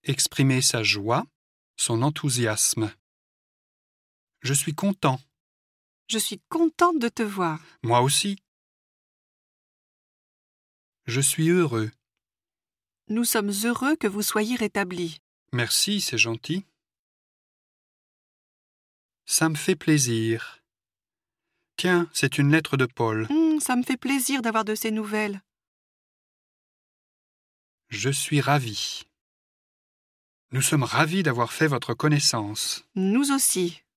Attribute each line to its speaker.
Speaker 1: Exprimer sa joie, son enthousiasme. Je suis content.
Speaker 2: Je suis contente de te voir.
Speaker 1: Moi aussi. Je suis heureux.
Speaker 2: Nous sommes heureux que vous soyez rétablis.
Speaker 1: Merci, c'est gentil. Ça me fait plaisir. Tiens, c'est une lettre de Paul.
Speaker 2: Ça me fait plaisir d'avoir de ces nouvelles.
Speaker 1: Je suis ravi. Nous sommes ravis d'avoir fait votre connaissance.
Speaker 2: Nous aussi.